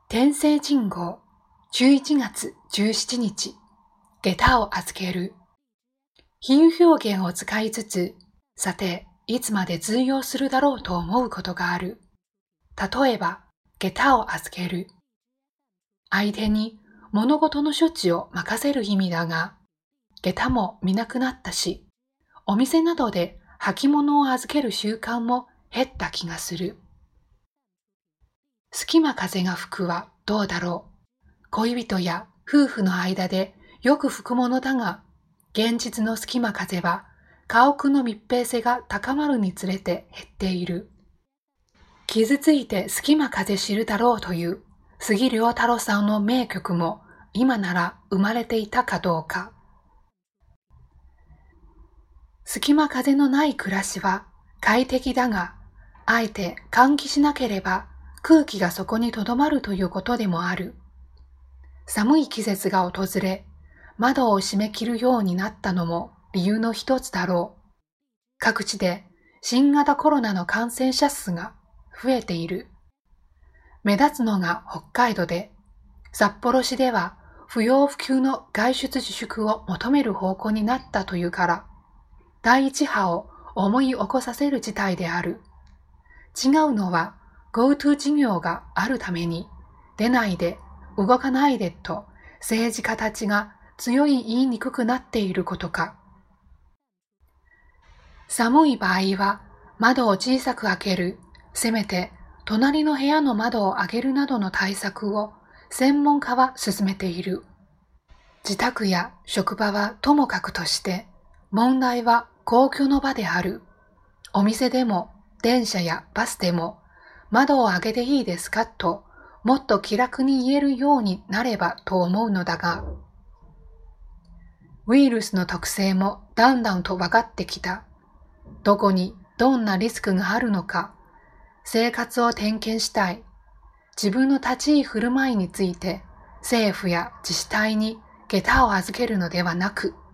天聖人号11月17日、下駄を預ける。比喩表現を使いつつ、さて、いつまで通用するだろうと思うことがある。例えば、下駄を預ける。相手に物事の処置を任せる意味だが、下駄も見なくなったし、お店などで履物を預ける習慣も減った気がする。隙間風が吹くはどうだろう。恋人や夫婦の間でよく吹くものだが、現実の隙間風は家屋の密閉性が高まるにつれて減っている。傷ついて隙間風知るだろうという杉良太郎さんの名曲も今なら生まれていたかどうか。隙間風のない暮らしは快適だが、あえて換気しなければ空気がそこに留まるということでもある。寒い季節が訪れ、窓を閉め切るようになったのも理由の一つだろう。各地で新型コロナの感染者数が増えている。目立つのが北海道で、札幌市では不要不急の外出自粛を求める方向になったというから、第一波を思い起こさせる事態である。違うのは GoTo 事業があるために、出ないで、動かないでと政治家たちが強い言いにくくなっていることか。寒い場合は窓を小さく開ける、せめて隣の部屋の窓を開けるなどの対策を専門家は進めている。自宅や職場はともかくとして、問題は公共の場である。お店でも電車やバスでも窓を開けていいですかともっと気楽に言えるようになればと思うのだが、ウイルスの特性もだんだんと分かってきた。どこにどんなリスクがあるのか、生活を点検したい。自分の立ち居振る舞いについて政府や自治体に下駄を預けるのではなく、